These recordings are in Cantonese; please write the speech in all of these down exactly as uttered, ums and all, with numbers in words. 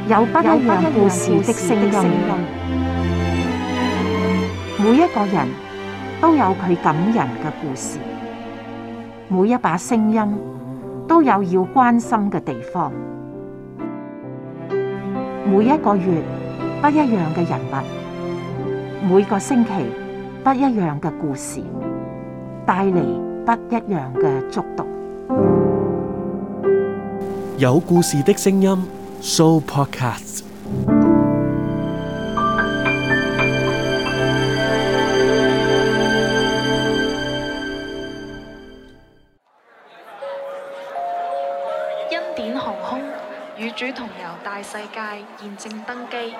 有不一樣故事的聲音，每一個人都有佢感人嘅故事，每一把聲音都有要關心嘅地方。每一個月不一樣嘅人物，每個星期不一樣嘅故事，帶嚟不一樣嘅觸動。 有故事的聲音 Sooo Podcast。 恩典航空與主同遊大世界現正登機。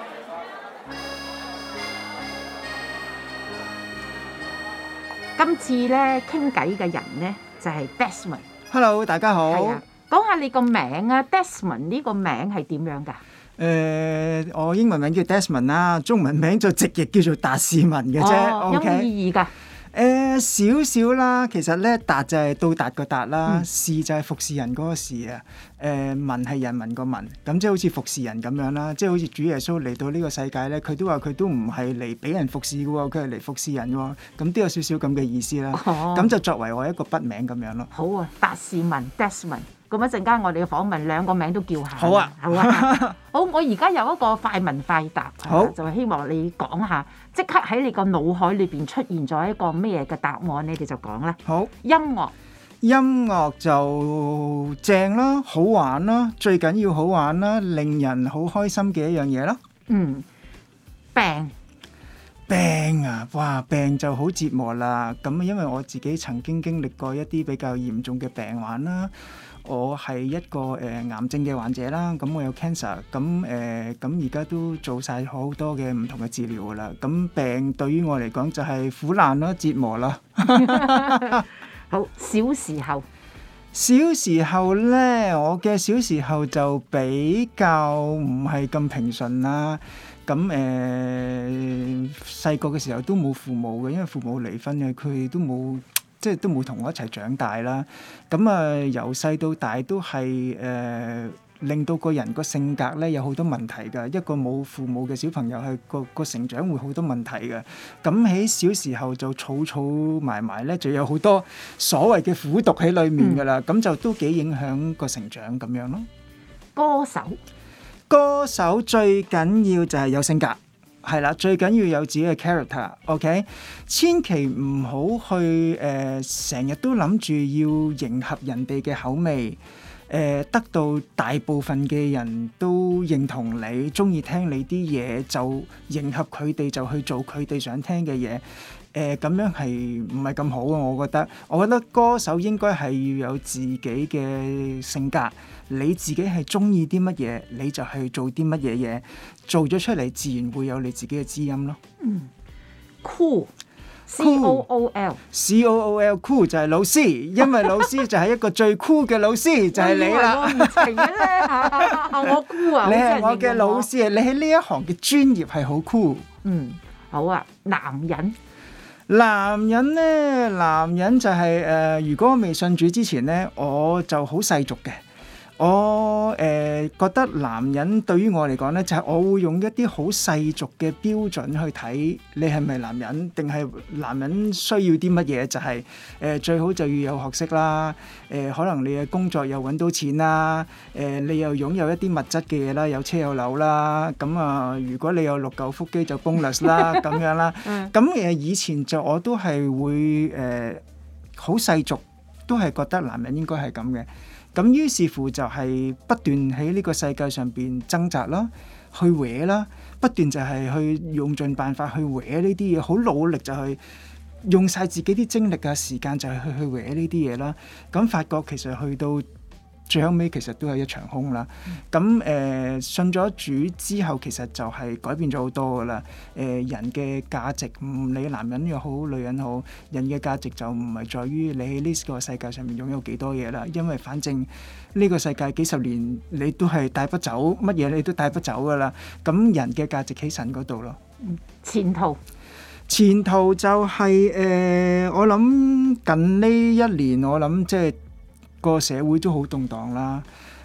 今次咧傾偈嘅人咧就係 Desmond。 Hello， 大家好。 係啊，講下你個名啊 ，Desmond 呢個名係點樣㗎？ 誒、呃，我英文名叫 Desmond 啦，中文名就直譯叫做達士文嘅啫。 哦， OK？ 有冇意義㗎？ 誒少少啦，其實咧達就係到達個達啦， 嗯、 士就係服侍人嗰個士啊。誒、呃、民係人民個民，咁即係好似服侍人咁樣啦。即係好似主耶穌嚟到呢個世界咧，佢都話佢都唔係嚟俾人服侍嘅喎，佢係嚟服侍人喎。咁都有少少咁嘅意思啦。咁、哦、就作為我一個筆名咁樣咯。 好啊，達士文 Desmond。咁一陣間我哋嘅訪問兩個名都叫下。 好啊， 好啊。好，我而家有一個快問快答， 好就係希望你講下，即刻喺你個腦海裏邊出現咗一個咩嘅答案，你哋就講啦。 好， 音樂。 音樂就正啦，好玩啦，最緊要好玩啦，令人好開心嘅一樣嘢啦。 嗯，病。 病啊，哇！病就好折磨啦。咁因為我自己曾經經歷過一啲比較嚴重嘅病患啦。我係一個誒、呃、癌症嘅患者啦，咁我有 cancer，咁誒咁而家都做晒好多嘅唔同嘅治療噶啦。咁病對於我嚟講就係苦難啦、折磨啦。 好，小時候， 小時候咧，我嘅小時候就比較唔係咁平順啦。咁誒細個嘅時候都冇父母嘅，因為父母離婚嘅，佢哋都冇。即係都冇同我一齊長大啦，咁啊由細到大都係誒、呃、令到個人個性格咧有好多問題㗎。一個冇父母嘅小朋友係個個成長會好多問題嘅。咁喺小時候就儲儲埋埋咧，就有好多所謂嘅苦毒喺裡面㗎啦。咁、嗯、就都幾影響個成長咁樣咯。 歌手， 歌手最緊要就係有性格。係啦，最緊要有自己嘅 character，OK？ 千祈唔好去誒，成日都諗住要迎合人哋嘅口味，誒、呃，得到大部分嘅人都認同你，中意聽你啲嘢，就迎合佢哋，就去做佢哋想聽嘅嘢。誒、呃，咁樣係唔係咁好啊？我覺得，我覺得歌手應該係要有自己嘅性格。你自己係中意啲乜嘢，你就去做啲乜嘢嘢，做咗出嚟自然會有你自己嘅知音咯。 嗯 ，cool，C O O L，C O O L cool 就係老師，因為老師就係一個最 cool 嘅老師，就係你啦。 我唔係咧，我 cool 啊！ 你係我嘅老師啊！你喺呢一行嘅專業係好 cool。 嗯，好啊，男人。 男人咧，男人就係、是、誒、呃，如果我未信主之前咧，我就好世俗嘅。我誒、呃、覺得男人對於我嚟講咧，就係、是、我會用一啲好世俗嘅標準去睇你係咪男人，定係男人需要啲乜嘢？就係、是、誒、呃、最好就要有學識啦，誒、呃、可能你嘅工作又揾到錢啦，誒、呃、你又擁有一啲物質嘅嘢啦，有車有樓啦，咁啊、呃、如果你有六嚿腹肌就 bonus 啦咁樣啦，咁誒、呃、以前就我都係會誒好、呃、世俗，都係覺得男人應該係咁嘅。咁於是乎就係不斷喺呢個世界上邊掙扎啦，去搲啦，不斷就係去用盡辦法去搲呢啲嘢，好努力就去用晒自己啲精力啊時間就係去去搲呢啲嘢啦。咁發覺其實去到最後尾其實都係一場空啦。咁誒、呃、信咗主之後，其實就係改變咗好多噶啦。誒、呃、人嘅價值，唔理男人又好，女人好，人嘅價值就唔係在於你喺呢個世界上面擁有幾多嘢啦。因為反正呢個世界幾十年你都係帶不走，乜嘢你都帶不走噶啦。咁人嘅價值喺神嗰度咯。 前途。 前途就係、是、誒、呃，我諗近呢一年，我諗即係個社會都好動盪啦。誒、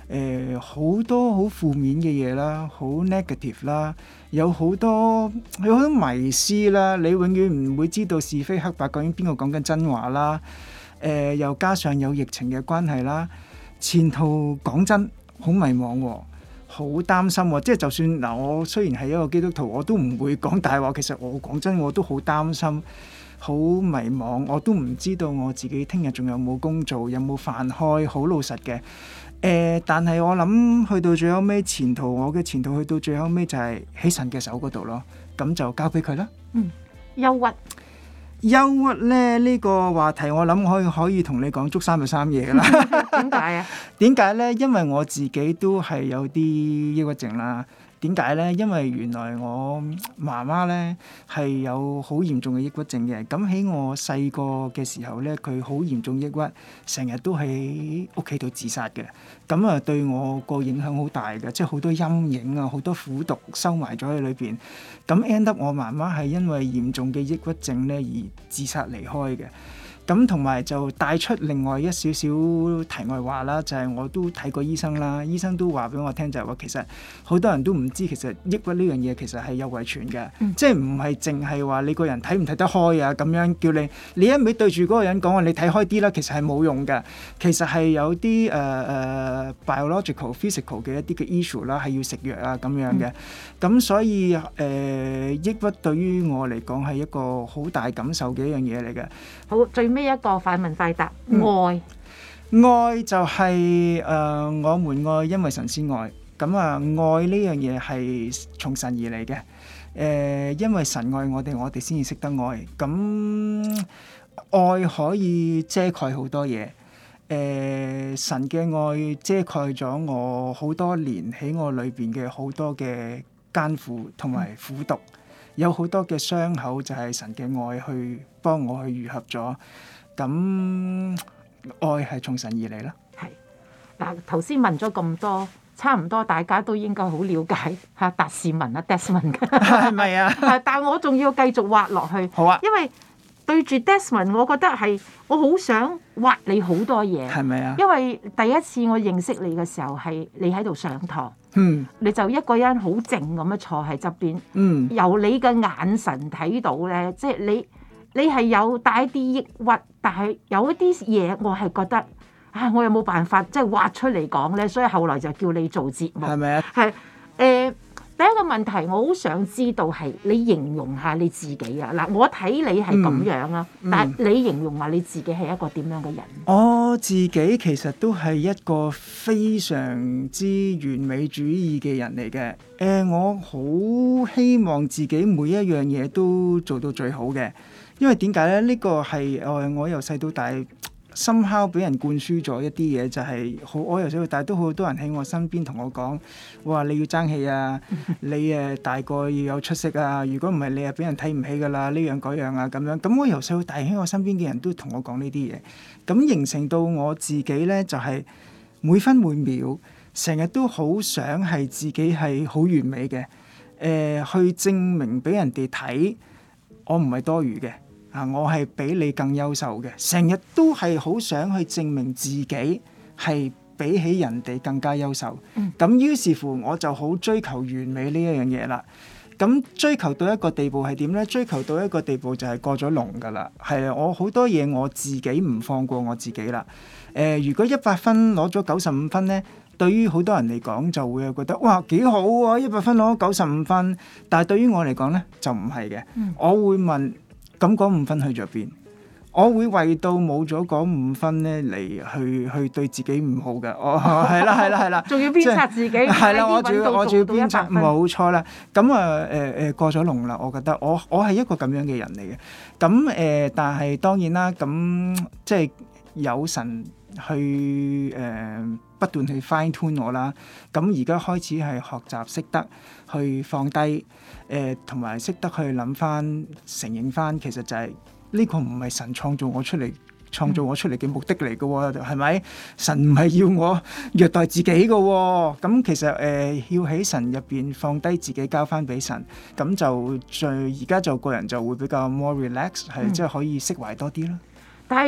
誒好多好負面嘅嘢啦，好 negative 啦，有好多有好多迷思啦，你永遠唔會知道是非黑白究竟邊個講緊真話啦。誒、呃、又加上有疫情嘅關係啦，前途講真好迷茫喎，好擔心喎。即係就算嗱，我雖然係一個基督徒，我都唔會講大話。其實我講真，我都好擔心，好迷茫，我都唔知道我自己聽日仲有冇工做，有冇飯開。好老實嘅，誒、呃，但係我諗去到最後尾，前途我嘅前途去到最後尾就係喺神嘅手嗰度咯。咁就交俾佢啦。 嗯，憂鬱。 憂鬱咧呢、呢個話題，我諗可以可以同你講足三日三夜噶啦。 點解啊？ 點解咧？因為我自己都係有啲抑鬱症啦。點解咧？因為原來我媽媽咧係有好嚴重嘅抑鬱症嘅。咁喺我細個嘅時候咧，佢好嚴重抑鬱，成日都喺屋企度自殺嘅。咁啊，對我個影響好大嘅，即係好多陰影啊，好多苦毒收埋咗喺裏邊。咁 end up 我媽媽係因為嚴重嘅抑鬱症咧而自殺離開嘅。咁同埋就帶出另外一少少題外話啦，就係、是、我都睇過醫生啦，醫生都話俾我聽就係話，其實好多人都唔知其實抑鬱呢樣嘢其實係有遺傳嘅，嗯、即係唔係淨係話你個人睇唔睇得開啊，咁樣叫你你一味對住嗰個人講話你睇開啲啦，其實係冇用嘅。其實係有啲誒誒 biological、physical 嘅一啲嘅 issue 啦，係要食藥啊咁樣嘅。咁、嗯、所以誒、呃、抑鬱對於我嚟講係一個好大感受嘅一樣嘢嚟嘅。 好，最尾一個快問快答， 嗯、 愛愛就係、是、誒、呃、我們愛，因為神先愛。咁啊，愛呢樣嘢係從神而嚟嘅。誒、呃，因為神愛我哋，我哋先至識得愛。咁愛可以遮蓋好多嘢。誒、呃，神嘅愛遮蓋咗我好多年喺我裏邊嘅好多嘅艱苦同埋苦毒。嗯，有好多嘅傷口就係神嘅愛去幫我去愈合咗。咁愛係從神而嚟啦。 係嗱，頭先問咗咁多，差唔多大家都應該好了解嚇達士文啊 Desmond 嘅， 係咪啊？ 但係我仲要繼續挖落去。 好啊。 因為對住 Desmond，我覺得係我好想挖你好多嘢。係咪啊？因為第一次我認識你嘅時候係你喺度上堂。嗯，你就一個人好靜咁樣坐喺側邊，嗯，由你嘅眼神睇到咧，即係你你係有帶一啲抑鬱，但係有一啲嘢我係覺得啊，我有冇辦法即係挖出嚟講咧，所以後來就叫你做節目，係咪啊？係誒、呃，第一個問題我好想知道係你形容下你自己啊！嗱，我睇你係咁樣啊，嗯嗯、但係你形容下你自己係一個點樣嘅人？ 我自己其實都係一個非常之完美主義嘅人嚟嘅。誒、呃，我好希望自己每一樣嘢都做到最好嘅，因為點解咧？呢、呢個係誒我由細到大somehow俾人灌輸咗一啲嘢，就係、是、好我由細到大都好多人喺我身邊同我講，哇！你要爭氣啊，你誒大個要有出息啊，如果唔係你係俾人睇唔起㗎啦，呢樣嗰樣啊咁樣。咁我由細到大喺我身邊嘅人都同我講呢啲嘢，咁形成到我自己咧就係、是、每分每秒成日都好想係自己係好完美嘅，誒、呃、去證明俾人哋睇我唔係多餘嘅。啊！我係比你更優秀嘅，成日都係好想去證明自己係比起人哋更加優秀。咁、嗯、於是乎我就好追求完美呢一樣嘢啦。咁追求到一個地步係點呢？追求到一個地步就係過咗龍㗎啦。係啊，我好多嘢我自己唔放過我自己啦。誒、呃，如果一百分攞咗九十五分呢，對於好多人嚟講就會覺得哇幾好啊！一百分攞咗九十五分，但係對於我嚟講呢，就唔係嘅。嗯、我會問。咁嗰五分去咗邊？我會為到冇咗嗰五分咧嚟去去對自己唔好嘅。哦，係啦係啦係啦，仲要鞭策自己。係啦，我仲要我仲要鞭策，冇錯啦。咁啊誒誒過咗龍啦，我覺得我我係一個咁樣嘅人嚟嘅。咁誒、呃，但係當然啦，咁即係有神去誒、呃、不斷去 fine tune 我啦。咁而家開始係學習識得去放低。誒同埋識得去諗翻、承認翻，其實就係、是、呢、這個唔係神創造我出嚟、創造我出嚟嘅目的嚟嘅喎，係咪？神唔係要我虐待自己嘅喎、哦，咁其實誒、呃、要喺神入邊放低自己，交翻俾神，咁就最而家就個人就會比較 more relax，係即係可以釋懷多啲啦。 但係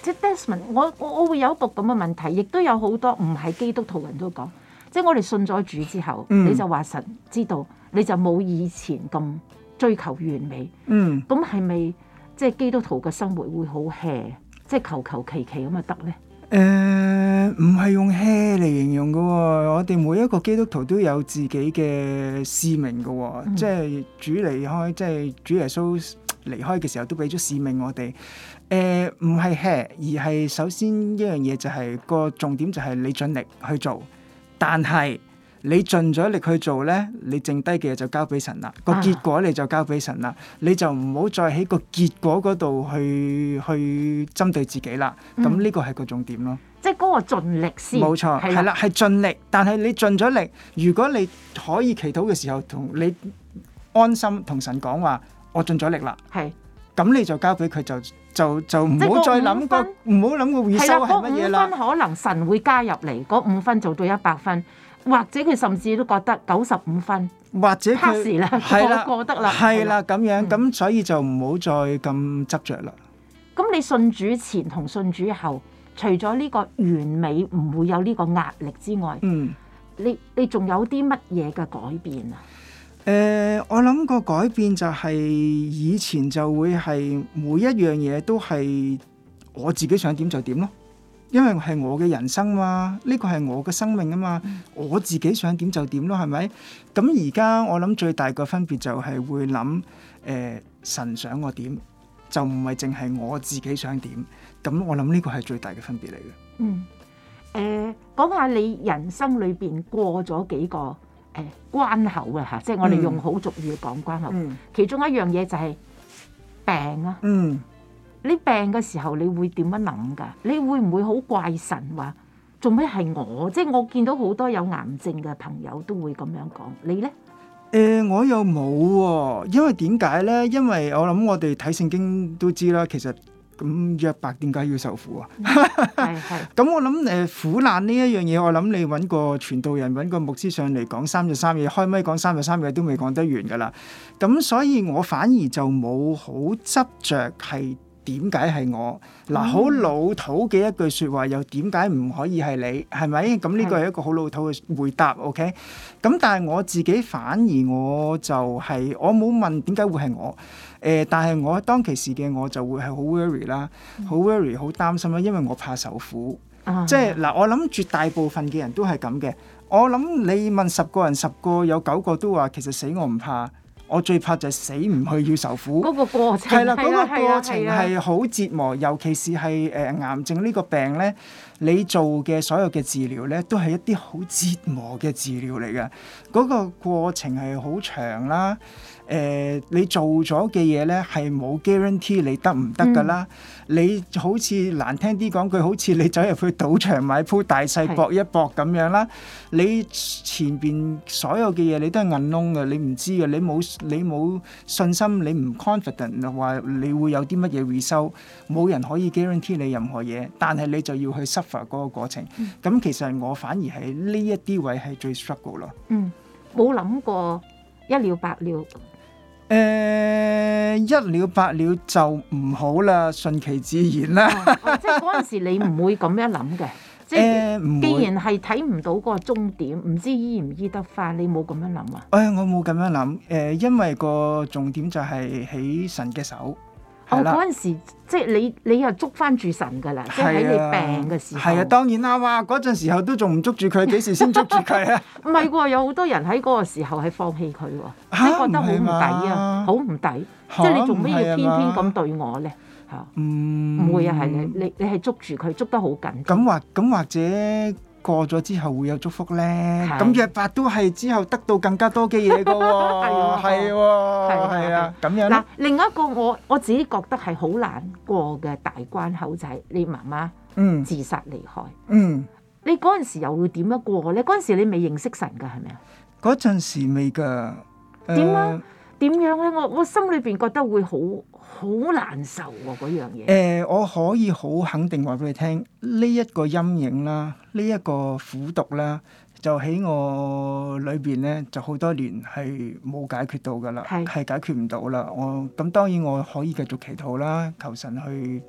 即係 Desmond，我我我會有一個咁嘅問題，亦都有好多唔係基督徒人都講，即係我哋信咗主之後，嗯、你就話神知道，你就冇以前咁追求完美。嗯，咁係咪即係基督徒嘅生活會好 hea， 即係求求其其咁就得咧？ 誒，唔係用 hea 嚟形容嘅喎，我哋每一個基督徒都有自己嘅使命嘅喎，嗯、即係主離開，即係主耶穌離開嘅時候都俾咗使命我哋。誒，唔係 hea，而係首先一樣嘢就係、是、個重點就係你盡力去做，但係你盡咗力去做咧，你剩低嘅嘢就交俾神啦。個結果你就交俾神啦，你就唔好再喺個結果嗰度去去針對自己啦。咁呢、嗯、個係個重點咯。 即係嗰個盡力先。冇錯， 係啦，係盡力。但係你盡咗力，如果你可以祈禱嘅時候，同你安心同神講話，我盡咗力啦。係。咁你就交俾佢，就就就唔好再諗個唔好諗個回收係乜嘢啦。 五分可能神會加入嚟，嗰五分做到一百分。或者佢甚至都覺得九十五分， 或者佢係啦， 過得啦， 係啦咁樣，咁、嗯、所以就唔好再咁執着啦。 咁你信主前同信主後，除咗呢個完美唔會有呢個壓力之外，嗯，你你仲有啲乜嘢嘅改變啊？ 誒、呃，我諗個改變就係以前就會係每一樣嘢都係我自己想點就點咯。因為係我嘅人生嘛，呢個係我嘅生命啊嘛，嗯、我自己想點就點咯，係咪？咁而家我諗最大個分別就係會諗，誒、呃、神想我點，就唔係淨係我自己想點。咁我諗呢個係最大嘅分別嚟嘅。 嗯，誒、呃、講下你人生裏邊過咗幾個誒、呃、關口啊嚇，即係我哋用好俗語講關口。嗯、其中一樣嘢就係病啊。嗯。你病嘅時候，你會點樣諗㗎？你會唔會好怪神話做咩係我？即係我見到好多有癌症嘅朋友都會咁樣講。你咧？ 誒、呃，我又冇喎，因為點解咧？因為我諗我哋睇聖經都知啦，其實咁約伯點解要受苦啊？係係。咁我諗誒、呃、苦難呢一樣嘢，我諗你揾個傳道人揾個牧師上嚟講三日三夜，開咪講三日三夜都未講得完㗎啦。咁所以我反而就冇好執着係。點解係我嗱？好老土嘅一句説話，又點解唔可以係你？係咪？咁呢個係一個好老土嘅回答。OK。咁但係我自己反而我就係、是、我冇問點解會係我。誒、呃，但係我當其時嘅我就會係好 worry 啦，好 worry，好擔心啦，因為我怕受苦。嗯、即係嗱，我諗絕大部分嘅人都係咁嘅。我諗你問十個人，十個有九個都話其實死我唔怕。我最怕就係死唔去要受苦， 嗰個過程係啦，嗰個過程係好折磨，尤其是係誒癌症呢個病咧，你做嘅所有嘅治療咧，都係一啲好折磨嘅治療嚟嘅，嗰個過程係好長啦。誒、呃，你做咗嘅嘢咧係冇 guarantee 你得唔得㗎啦？嗯、你好似難聽啲講句，好似你走入去賭場買鋪大細搏一搏咁樣啦。是你前邊所有嘅嘢你都係銀窿嘅，你唔知嘅，你冇你冇信心，你唔 confident 話你會有啲乜嘢回收，冇人可以 guarantee 你任何嘢，但係你就要去 suffer 嗰個過程。咁、嗯、其實我反而係呢一啲位係最 struggle 咯。 嗯，冇諗過一了百了。 誒、呃、一了百了就唔好啦，順其自然啦、 哦。即係嗰陣時你唔會咁樣諗嘅，即係、呃、既然係睇唔到嗰個終點，唔知醫唔醫得返，你冇咁樣諗啊？誒、 哎，我冇咁樣諗。誒、呃，因為個重點就係喺神嘅手。 哦，嗰陣時即係你你又捉翻住神㗎啦，即係喺你病嘅時候。 係啊，當然啦，哇！嗰陣時候都仲唔捉住佢，幾時先捉住佢啊？ 唔係喎，有好多人喺嗰個時候係放棄佢喎，即係覺得好唔抵啊，好唔抵。即係你做咩要偏偏咁對我咧？嚇，唔會啊，係你你你係捉住佢，捉得好緊。 咁或咁或者。過咗之後會有祝福咧，咁約伯都係之後得到更加多嘅嘢㗎喎，係喎，係啊，咁樣。嗱， 另一個我我自己覺得係好難過嘅大關口就係你媽媽自殺離開。嗯，你嗰陣時又會點樣過咧？嗰陣時你未認識神㗎係咪啊？ 嗰陣時未㗎。 點啊？點樣咧？我我心裏邊覺得會好好難受喎，嗰樣嘢。 誒，我可以好肯定話俾你聽，呢一個陰影啦，呢一個苦毒啦，就喺我裏邊咧，就好多年係冇解決到噶啦，係解決唔到啦。我咁當然我可以繼續祈禱啦，求神去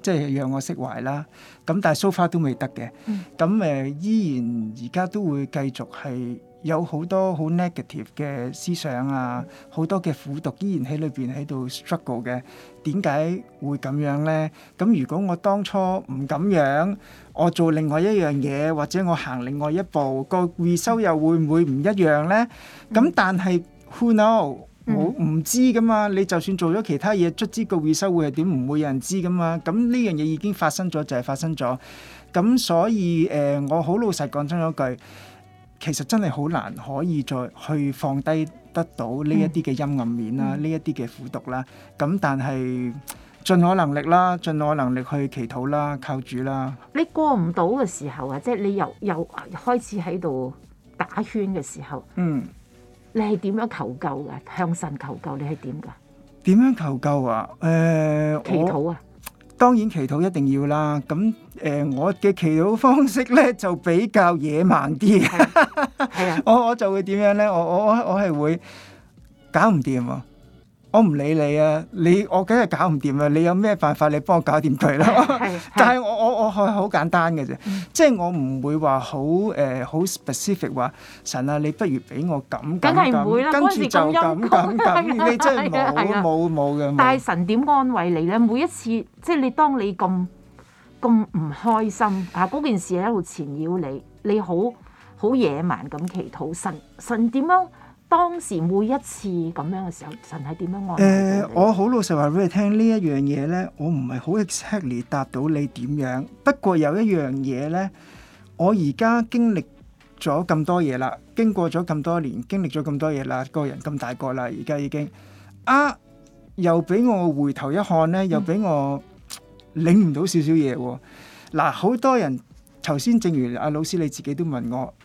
即係讓我釋懷啦。咁但係 so far 都未得嘅。咁誒、呃、依然而家都會繼續係有好多好 negative 嘅思想啊，好多嘅苦毒依然喺裏邊喺度 struggle 嘅。點解會咁樣咧？咁如果我當初唔咁樣，我做另外一樣嘢，或者我行另外一步，個 result 又會唔會唔一樣咧？咁、嗯、但係 who know？我唔知噶嘛，你就算做咗其他嘢，卒之個 result 會係點，唔會有人知噶嘛。咁呢樣嘢已經發生咗，就係發生咗。咁所以誒、呃，我好老實講真嗰句，其實真係好難可以再去放低得到呢一啲嘅陰暗面啦，呢一啲嘅苦毒啦。咁但係盡我能力啦，盡我能力去祈禱啦，靠主啦。 你過唔到嘅時候啊，即係你又又開始喺度打圈嘅時候，嗯。你係點樣求救㗎？向神求救，你係點㗎？ 點樣求救啊？誒、呃， 祈禱啊！ 當然祈禱一定要啦。咁誒、呃，我嘅祈禱方式咧就比較野蠻啲。係啊，我我就會點樣咧？我我我我係會搞唔掂啊！我唔理你啊，你我梗係搞唔掂啊！你有咩辦法？你幫我搞掂佢啦。但係我我我係好簡單嘅啫，嗯、即係我唔會話好誒好 specific 話神啊，你不如俾我咁咁咁，跟住就咁咁咁，你真係冇冇冇嘅。 但係神點安慰你咧？每一次即係你當你咁咁唔開心啊，嗰件事喺度纏繞你，你好好野蠻咁祈禱，神神點樣？當時每一次咁樣嘅時候，神係點樣安慰你？ 誒，我好老實話俾你聽，呢一樣嘢咧，我唔係好 exactly 答到你點樣。不過有一樣嘢咧，我而家經歷咗咁多嘢啦，經過咗咁多年，經歷咗咁多嘢啦，個人咁大個啦，而家已經啊，又俾我回頭一看咧，又俾我領唔到少少嘢喎。嗱，好多人頭先正如阿老師你自己都問我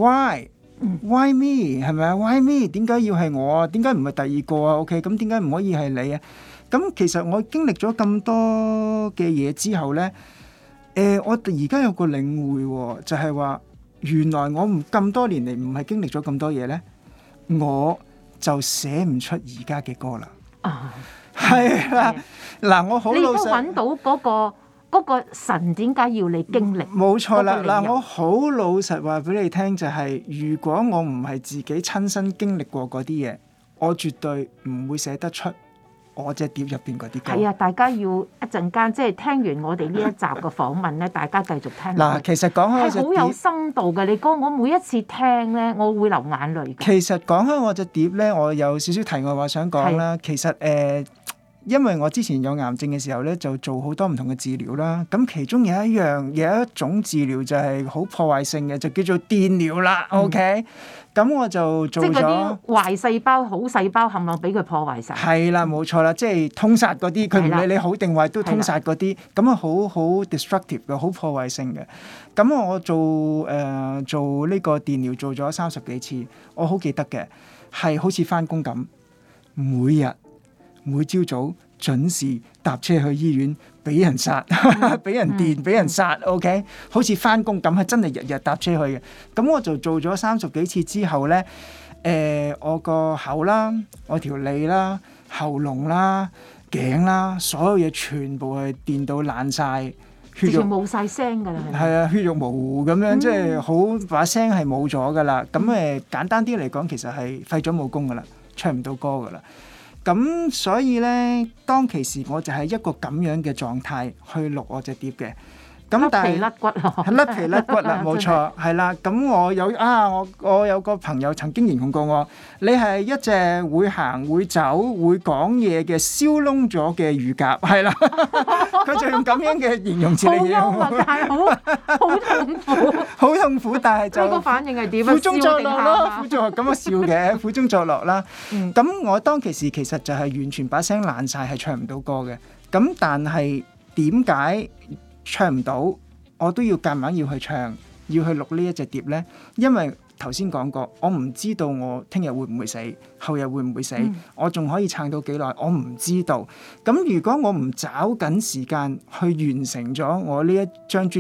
why？Why me 係咪啊 ？Why me？點解要係我啊？點解唔係第二個啊 ？OK，咁點解唔可以係你啊？咁其實我經歷咗咁多嘅嘢之後咧，誒、呃，我而家有個領會、哦，就係、是、話原來我唔咁多年嚟唔係經歷咗咁多嘢咧，我就寫唔出而家嘅歌啦。啊，係啦，嗱，我好老實，你都揾到嗰、那個。嗰個神點解要你經歷？ 冇錯啦，嗱，我好老實話俾你聽，就係、是、如果我唔係自己親身經歷過嗰啲嘢，我絕對唔會寫得出我隻碟入邊嗰啲歌。 係啊，大家要一陣間即係聽完我哋呢一集嘅訪問咧，大家繼續聽。 嗱，其實講開我隻碟係好有深度嘅，你歌我每一次聽咧，我會流眼淚。 其實講開我隻碟咧，我有少少題外話想講啦。其實誒。呃因為我之前有癌症嘅時候咧，就做好多唔同嘅治療啦。咁其中有一樣有一種治療就係好破壞性嘅，就叫做電療啦。嗯、OK，咁我就做咗。即係嗰啲壞細胞、好細胞，冚唪唥俾佢破壞晒。 係啦，冇錯啦，即係通殺嗰啲，佢唔理你好定壞都通殺嗰啲。咁啊，好好 destructive 嘅，好破壞性嘅。咁我做誒、呃、做呢個電療做咗三十幾次，我好記得嘅，係好似返工咁，每日。每朝早準時搭車去醫院，俾人殺，俾人電，俾人殺。OK，好似返工咁，係真係日日搭車去嘅。咁我就做咗三十幾次之後咧，誒、呃，我個口啦，我條脷啦，喉嚨啦，頸啦，所有嘢全部係電到爛晒，血肉冇晒聲㗎啦。 係啊，血肉模糊咁樣，嗯、即係好把聲係冇咗㗎啦。咁誒、呃，簡單啲嚟講，其實係廢咗武功㗎啦，唱唔到歌㗎啦。咁所以咧，當其時我就係一個咁樣嘅狀態去錄我隻碟嘅。咁但係甩皮甩骨咯， 甩皮甩骨啦，冇錯，係啦。咁我有啊，我我有個朋友曾經形容過我，你係一隻會行會走會講嘢嘅燒燶咗嘅乳鴿，係啦。佢就用咁樣嘅形容詞嚟形容我。 好幽默，但係好好痛苦， 好痛苦，但係就呢個反應係點啊？ 苦中作樂咯，苦中咁樣笑嘅，苦中作樂啦。咁、嗯、我當其時其實就係完全把聲爛晒，係唱唔到歌嘅。咁但係點解唱唔到，我都要夾硬要去唱，要去錄呢一隻碟呢？因為頭先講過，我唔知道我聽日會唔會死，後日會唔會死，嗯、我仲可以撐到幾耐，我唔知道。咁如果我唔找緊時間去完成咗我呢一張專輯，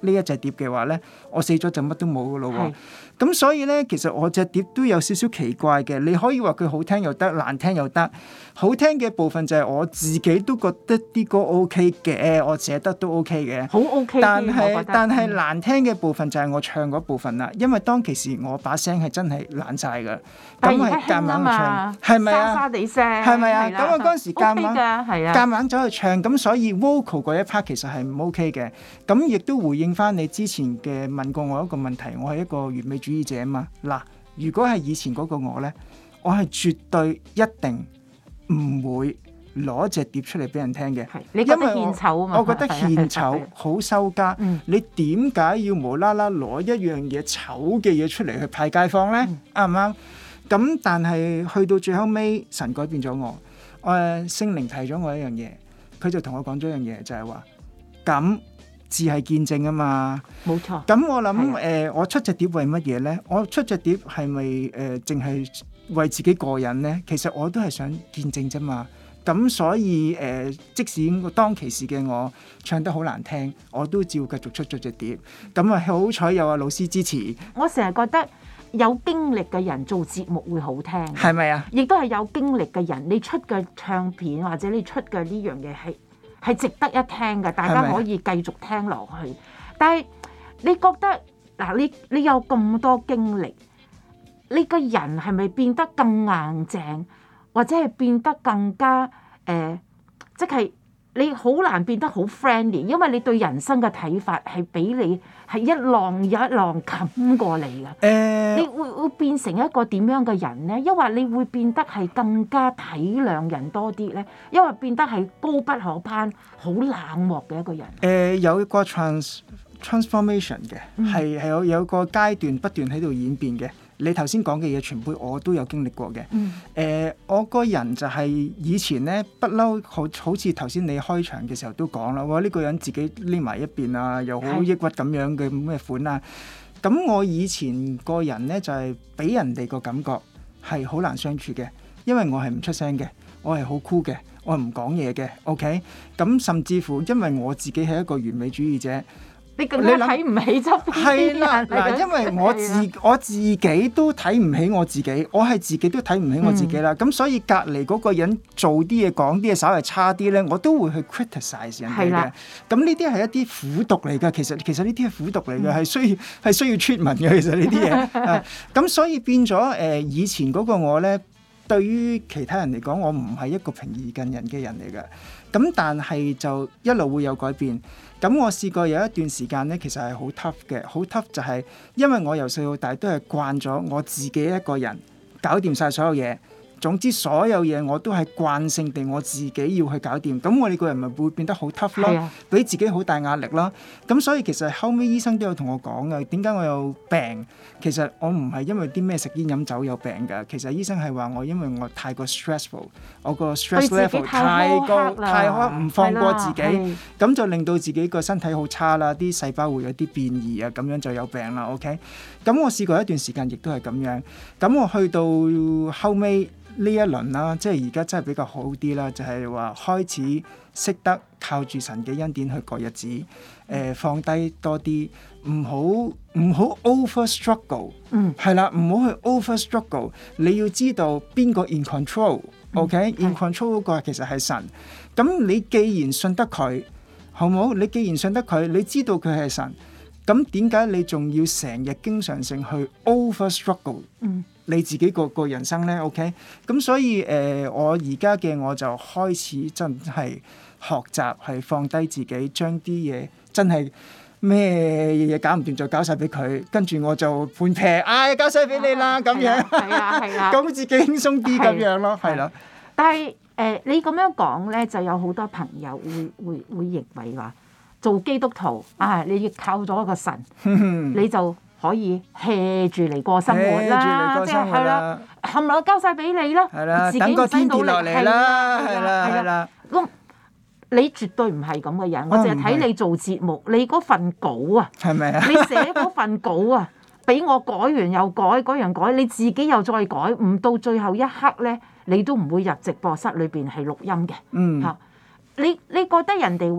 呢一隻碟嘅話咧，我死咗就乜都冇噶咯喎。咁所以咧，其實我隻碟都有少少奇怪嘅。你可以話佢好聽又得，難聽又得。好聽嘅部分就係我自己都覺得啲歌 OK 嘅，我寫得都 OK 嘅， 好 OK。 但係但係難聽嘅部分就係我唱嗰部分啦，因為當其時我把聲係真係爛晒㗎，咁係夾硬唱，係咪啊？ 沙沙地聲， 係咪啊？咁我嗰陣時夾硬， 係啊， 夾硬走去唱，咁所以 vocal 嗰一 part 其實係唔 OK 嘅。咁亦都回應翻你之前嘅問過我一個問題，我係一個完美主義者啊嘛。嗱，如果係以前嗰個我咧，我係絕對一定唔會攞隻碟出嚟俾人聽嘅， 你覺得獻醜啊嘛？ 我覺得獻醜好收家。嗯、你點解要無啦啦攞一樣嘢醜嘅嘢出嚟去派街坊咧？啱唔啱？咁但係去到最後尾，神改變咗我。誒，聖靈提咗我一樣嘢，佢就同我講咗一樣嘢，就係話咁只係見證啊嘛。 冇錯。 咁我諗誒的、呃，我出隻碟為乜嘢咧？我出隻碟係咪誒，淨、呃、係為自己個人咧？其實我都係想見證啫嘛。咁所以誒、呃，即使當其時嘅我唱得好難聽，我都照繼續出咗隻碟。咁啊，好彩有阿老師支持。 我成日覺得有經歷嘅人做節目會好聽， 係咪啊？亦都係有經歷嘅人，你出嘅唱片或者你出嘅呢樣嘢係係值得一聽嘅，大家可以繼續聽落去。但係你覺得嗱，你你有咁多經歷，你個人係咪變得更硬淨？或者係變得更加誒、呃，即係你好難變得好 friendly，因為你對人生嘅睇法係俾你係一浪又一浪冚過嚟嘅。誒、呃，你會會變成一個點樣嘅人咧？因為你會變得係更加體諒人多啲咧，因為變得係高不可攀、好冷漠嘅一個人。誒、 呃，有一個 trans transformation 嘅，係係、嗯、有有個階段不斷喺度演變嘅。你頭先講嘅嘢全部我都有經歷過嘅。誒、嗯呃，我個人就係以前咧不嬲，好好似頭先你開場嘅時候都講啦，哇！呢、這個人自己匿埋一邊啊，又好抑鬱咁樣嘅咩款啊。咁我以前個人咧就係、是、俾人哋個感覺係好難相處嘅，因為我係唔出聲嘅，我係好 cool 嘅，我係唔講嘢嘅。OK，咁甚至乎因為我自己係一個完美主義者。 你更加睇唔起側邊啲人。係啦， 嗱，因為我自我自己都睇唔起我自己，我係自己都睇唔起我自己啦。咁、嗯、所以隔離嗰個人做啲嘢講啲嘢稍微差啲咧，我都會去 criticize 人哋嘅。咁呢啲係一啲苦毒嚟㗎。其實其實呢啲係苦毒嚟嘅，係、嗯、需要係需要 treatment 嘅。其實呢啲嘢，咁所以變咗誒、呃、以前嗰個我咧，對於其他人嚟講，我唔係一個平易近人嘅人嚟嘅。咁但係就一路會有改變。咁我試過有一段時間咧，其實係好 tough 嘅，好 tough 就係因為我由細到大都係慣咗我自己一個人搞掂晒所有嘢。總之所有嘢我都係慣性地我自己要去搞掂，咁我哋個人咪會變得好 tough 咯，俾自己好大壓力咯。咁所以其實後尾醫生都有同我講嘅，點解我有病？其實我唔係因為啲咩食煙飲酒有病㗎，其實醫生係話我因為我太過 stressful， 我個 stress level 太高太苛，唔放過自己，咁就令到自己個身體好差啦，啲細胞會有啲變異啊，咁樣就有病啦。OK，咁我試過一段時間亦都係咁樣，咁我去到後尾。呢一輪啦，即係而家真係比較好啲啦，就係、是、話開始識得靠住神嘅恩典去過日子，誒、呃、放低多啲，唔好唔好 over struggle，嗯，係啦，唔好去 over struggle。你要知道邊個 in control，OK？in control 嗰個其實係神。咁你既然信得佢，好唔好？你既然信得佢，你知道佢係神，咁點解你仲要成日經常性去 over struggle？嗯。你自己個個人生咧 ，OK，咁所以誒、呃，我而家嘅我就開始真係學習係放低自己，將啲嘢真係咩嘢搞唔掂就搞晒俾佢，跟住我就判劈，唉、哎，交晒俾你啦，咁、啊、樣，係啊係啊，咁、啊、自己輕鬆啲咁樣咯，係啦、啊。 但係誒、呃，你咁樣講咧，就有好多朋友會會會認為話做基督徒啊，你要靠咗一個神，你就。可以 hea 住嚟過生活啦，即係係啦，冚唪唥交晒俾你啦， 啦自己唔使努力嚟啦，係啦係啦。 咁你絕對唔係咁嘅人，我淨係睇你做節目，你嗰份稿啊，係咪啊？你寫嗰份稿啊，俾我改完又改，改完改，你自己又再改，唔到最後一刻咧，你都唔會入直播室裏邊係錄音嘅。嗯，嚇你你覺得人哋話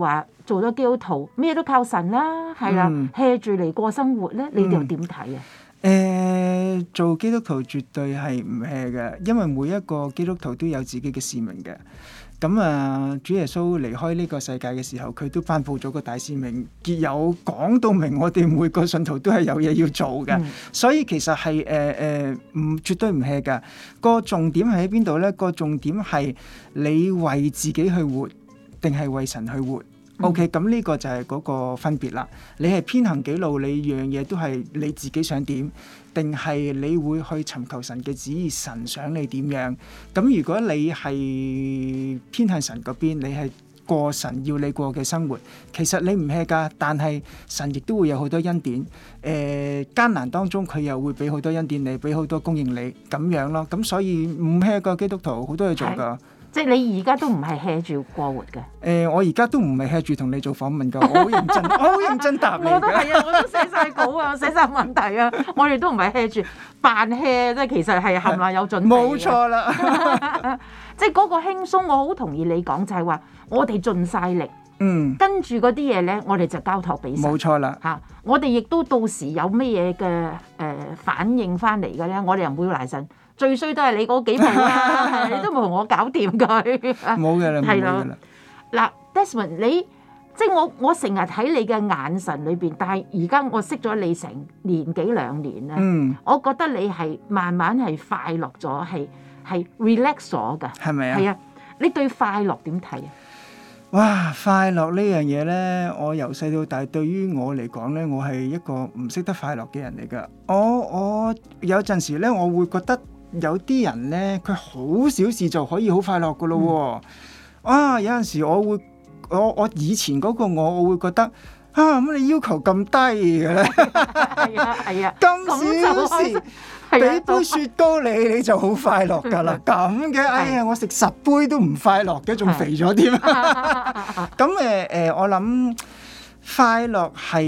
做咗基督徒，咩都靠神啦，係啦，hea 住嚟過生活咧，你又點睇啊？ 誒、呃，做基督徒絕對係唔 hea 嘅，因為每一個基督徒都有自己嘅使命嘅。咁啊，主耶穌離開呢個世界嘅時候，佢都頒布咗個大使命，結有講到明，我哋每個信徒都係有嘢要做嘅。嗯、所以其實係誒誒，唔絕對唔 hea 㗎。個重點係喺邊度咧？個重點係你為自己去活，定係為神去活？O.K. 咁呢個就係嗰個分別啦。你係偏行己路，你樣嘢都係你自己想點，定係你會去尋求神嘅旨意，神想你點樣？咁如果你係偏向神嗰邊，你係過神要你過嘅生活，其實你唔 hea 㗎，但係神亦都會有好多恩典。誒、呃、艱難當中佢又會俾好多恩典你，俾好多供應你咁樣咯。咁所以唔 hea 個基督徒好多嘢做㗎。 即係你而家都唔係 hea 住過活嘅。誒、 呃，我而家都唔係 hea 住同你做訪問㗎，我好認真，我好認真答你。 我都係啊，我都寫晒稿啊，寫晒問題啊，我哋都唔係 hea 住扮 hea，即係其實係冚唪唥有準備。冇錯啦，即係嗰個輕鬆，我好同意你講，就係話我哋盡晒力，嗯，跟住嗰啲嘢咧，我哋就交託俾神。冇錯啦，嚇、啊，我哋亦都到時有乜嘢嘅誒反應翻嚟嘅咧，我哋又唔會賴神。最衰都係你嗰幾步啦，你都冇同我搞掂佢。冇嘅啦，冇嘅啦。嗱 ，Desmond，你即係我，我成日睇你嘅眼神裏邊，但係而家我識咗你成年幾兩年啦。嗯，我覺得你係慢慢係快樂咗，係係 relax 咗㗎。係咪啊？係啊，你對快樂點睇啊？ 哇！快樂呢樣嘢咧，我由細到大對於我嚟講咧，我係一個唔識得快樂嘅人嚟㗎。我我有陣時咧，我會覺得。有啲人咧，佢好小事就可以好快樂噶咯喎！啊，有陣時我會，我我以前嗰個我，我會覺得啊，乜你要求咁低嘅咧？係啊係啊，咁小事，俾杯雪糕你，你就好快樂噶啦！咁嘅，哎呀，我食十杯都唔快樂嘅，仲肥咗添。咁誒誒，我諗快樂係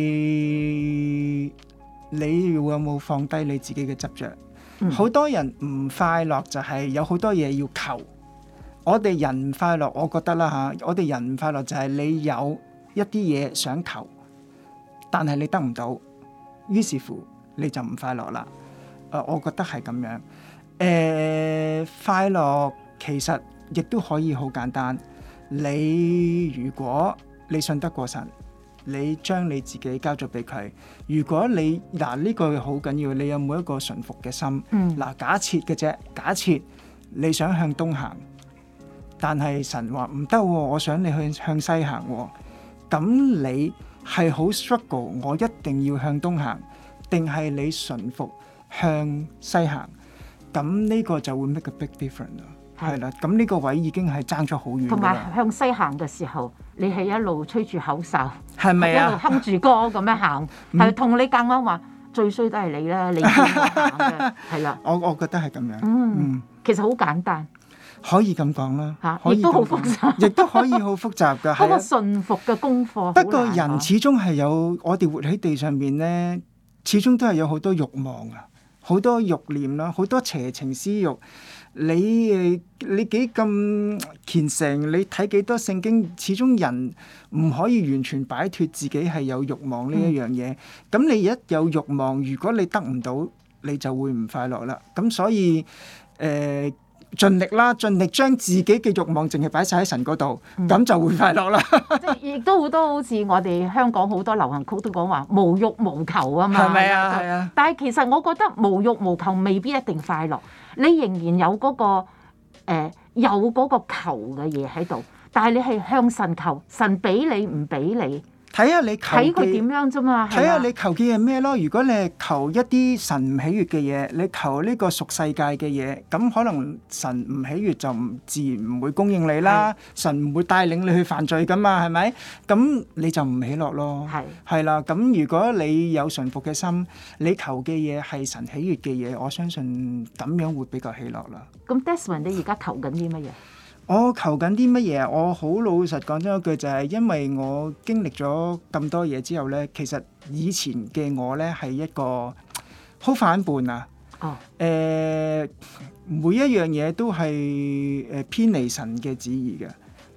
你有冇放低你自己嘅執着？好多人唔快樂就係有好多嘢要求，我哋人唔快樂，我覺得啦嚇，我哋人唔快樂就係你有一啲嘢想求，但係你得唔到，於是乎你就唔快樂啦。誒、呃，我覺得係咁樣。誒、呃，快樂其實亦都可以好簡單。你如果你信得過神，你將你自己交咗俾佢。如果你嗱呢句好緊要，你有冇一個順服嘅心？嗱、嗯，假設嘅啫，假設你想向東行，但係神話唔得，我想你去向西行。咁你係好 struggle，我一定要向東行，定係你順服向西行？咁呢個就會 make a big difference 咯。係啦，咁呢個位已經係爭咗好遠。同埋向西行嘅時候，你係一路吹住口哨， 係咪啊？ 一路哼住歌咁樣行，係同、嗯、你夾硬話最衰都係你啦，你先行嘅，係啦。我我覺得係咁樣。 嗯，嗯其實好簡單， 可以咁講啦。嚇， 亦都好複雜， 亦都可以好複雜㗎。 嗰個順服嘅功課。 不過人始終係有，我哋活喺地上面咧，始終都係有好多慾望啊，好多慾念啦，好多邪情私慾。你誒你幾咁虔誠？你睇幾多聖經？始終人唔可以完全擺脫自己係有慾望呢一樣嘢。咁、嗯、你一有慾望，如果你得唔到，你就會唔快樂啦。咁所以誒、呃，盡力啦，盡力將自己嘅慾望淨係擺晒喺神嗰度，咁、嗯、就會快樂啦。 即係亦都好多好似我哋香港好多流行曲都講話無慾無求啊嘛。 係咪啊？係啊。 但係其實我覺得無慾無求未必一定快樂。你仍然有嗰、那個誒、呃、有嗰個求嘅嘢喺度，但係你係向神求，神俾你唔俾你， 睇下你求睇佢點樣啫嘛。 睇下你求嘅係咩咯？如果你係求一啲神唔喜悅嘅嘢，你求呢個屬世界嘅嘢，咁可能神唔喜悅就唔自然唔會供應你啦。神唔會帶領你去犯罪噶嘛，係咪？咁你就唔喜樂咯。係係啦。咁如果你有順服嘅心，你求嘅嘢係神喜悅嘅嘢，我相信咁樣會比較喜樂啦。 咁 Desmond， 你而家求緊啲乜嘢？ 我求緊啲乜嘢？我好老實講咗一句，就係因為我經歷咗咁多嘢之後咧，其實以前嘅我咧係一個好反叛啊！哦，誒、呃，每一樣嘢都係誒偏離神嘅旨意嘅。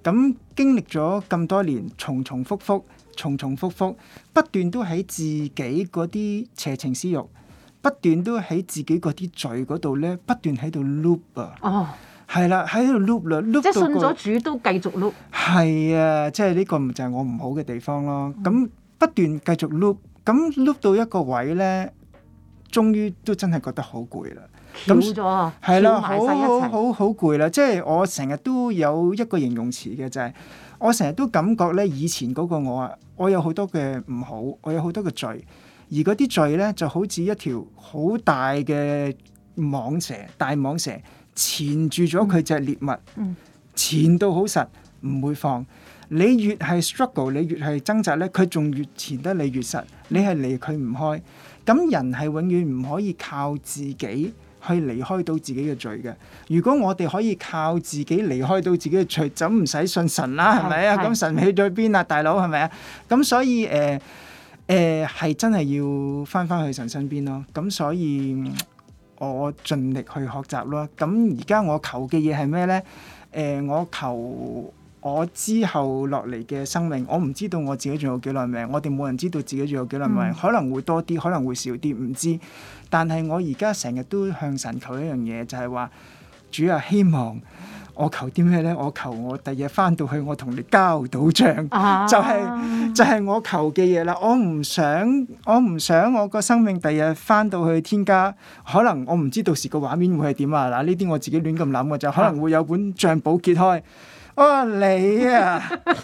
咁經歷咗咁多年，重重複複、重重複複，不斷都喺自己嗰啲邪情私欲，不斷都喺自己嗰啲罪嗰度咧，不斷喺度 loop 啊！哦，係啦，喺度 loop 啦，loop 到即係信咗主都繼續 loop。 係啊，即係呢個就係我唔好嘅地方咯。咁、嗯、不斷繼續 loop，咁 loop 到一個位咧，終於都真係覺得好攰啦。 咁咗， 係啦，好好好好攰啦！即係我成日都有一個形容詞嘅，就係、是、我成日都感覺咧，以前嗰個我啊，我有好多嘅唔好，我有好多嘅罪，而嗰啲罪咧就好似一條好大嘅蟒蛇，大蟒蛇纏住咗佢隻獵物，嗯、纏到好實，唔會放。你越係 struggle，你越係掙扎咧，佢仲越纏得你越實，你係離佢唔開。咁人係永遠唔可以靠自己去離開到自己嘅罪嘅。如果我哋可以靠自己離開到自己嘅罪，就唔使信神啦，係咪啊？咁神去咗邊啊，大佬係咪啊？咁所以誒誒係真係要翻翻去神身邊咯。咁所以我盡力去學習咯。咁而家我求嘅嘢係咩咧？誒、呃，我求我之後落嚟嘅生命，我唔知道我自己仲有幾耐命，我哋冇人知道自己仲有幾耐命，嗯、可能會多啲，可能會少啲，唔知。但係我而家成日都向神求一樣嘢，就係、是、話主啊，希望我求啲咩咧？我求我第日翻到去，我同你交到賬，啊、就係、是、就係、是、我求嘅嘢啦。我唔想我唔想我個生命第日翻到去天家，可能我唔知到時個畫面會係點啊！嗱，呢啲我自己亂咁諗嘅就可能會有本賬簿揭開。哇、哦！你啊，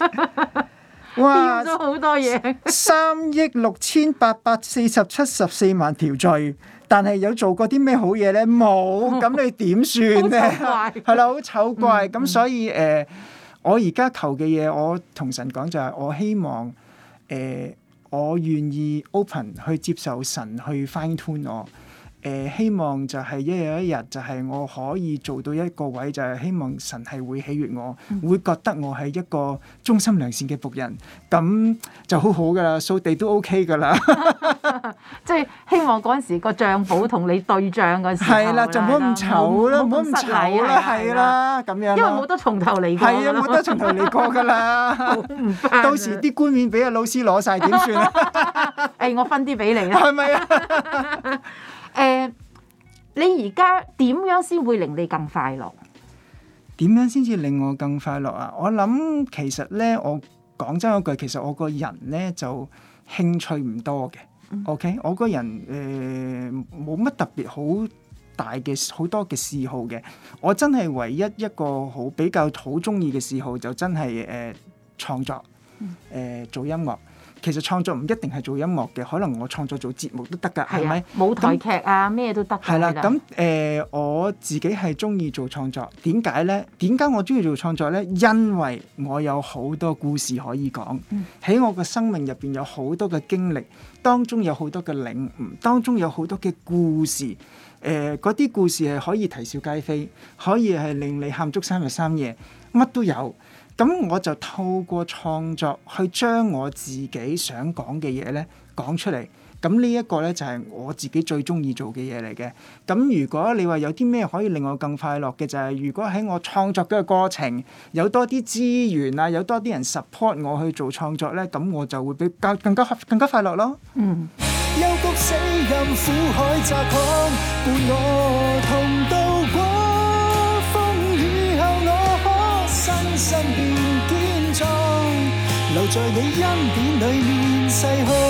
哇！ 咗好多嘢， 三億六千八百四十七十四萬條罪，但係有做過啲咩好嘢咧？冇，咁你點算咧？係啦，好醜怪。咁、嗯、所以誒、呃，我而家求嘅嘢，我同神講就係，我希望誒、呃，我願意 open 去接受神去 fine tune 我。誒、呃、希望就係一日一日就係我可以做到一個位，就係希望神係會喜悅我，嗯、會覺得我係一個忠心良善嘅僕人，咁就好好噶啦，掃地都 OK 噶啦。 即係希望嗰陣時個帳簿同你對帳嗰時候，係啦， 就唔好咁醜啦，唔好咁醜啦，係啦，咁樣。 因為冇得從頭嚟過。 係啊，冇得從頭嚟過噶啦。到時啲冠冕俾阿老師攞晒點算啊？ 誒、欸，我分啲俾你啦。 係咪啊？ 誒、呃，你而家點樣先會令你更快樂？ 點樣先至令我更快樂啊？我諗其實咧，我講真嗰句，其實我個人咧就興趣唔多嘅。嗯、OK，我個人誒冇乜特別好大嘅好多嘅嗜好嘅。我真係唯一一個好比較好中意嘅嗜好，就真係誒創作，誒、呃、做音樂。其實創作唔一定係做音樂嘅，可能我創作做節目都得㗎，係咪？ 舞台劇啊，咩都得。係啦， 咁誒、呃，我自己係中意做創作。點解咧？點解我中意做創作咧？因為我有好多故事可以講，喺、嗯、我嘅生命入邊有好多嘅經歷，當中有好多嘅領悟，當中有好多嘅故事。誒、呃，嗰啲故事係可以啼笑皆非，可以係令你喊足三日三夜，乜都有。咁我就透過創作去將我自己想講嘅嘢咧講出嚟。咁呢一個咧就係我自己最中意做嘅嘢嚟嘅。咁如果你話有啲咩可以令我更快樂嘅，就係、是、如果喺我創作嘅過程有多啲資源啊，有多啲人 support 我去做創作咧，咁我就會比較更加更加快樂咯。嗯。幽谷死蔭苦海窄巷，伴我同渡過風雨後，我可身心變堅壯，留在你恩典裡面細看。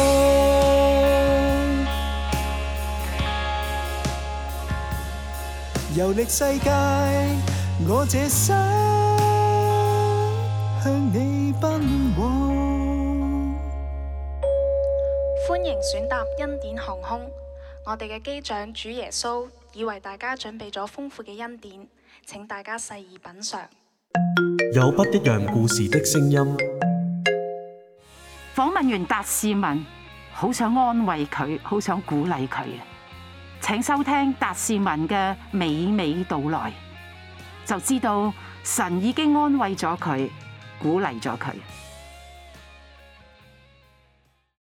遊歷世界，我這生向你奔往。 歡迎選搭恩典航空，我哋嘅機長主耶穌已為大家準備咗豐富嘅恩典，請大家細意品嚐。 有不一樣故事的聲音。 訪問完達士文，好想安慰佢，好想鼓勵佢。請收聽達士文嘅娓娓道來，就知道神已經安慰咗佢，鼓勵咗佢。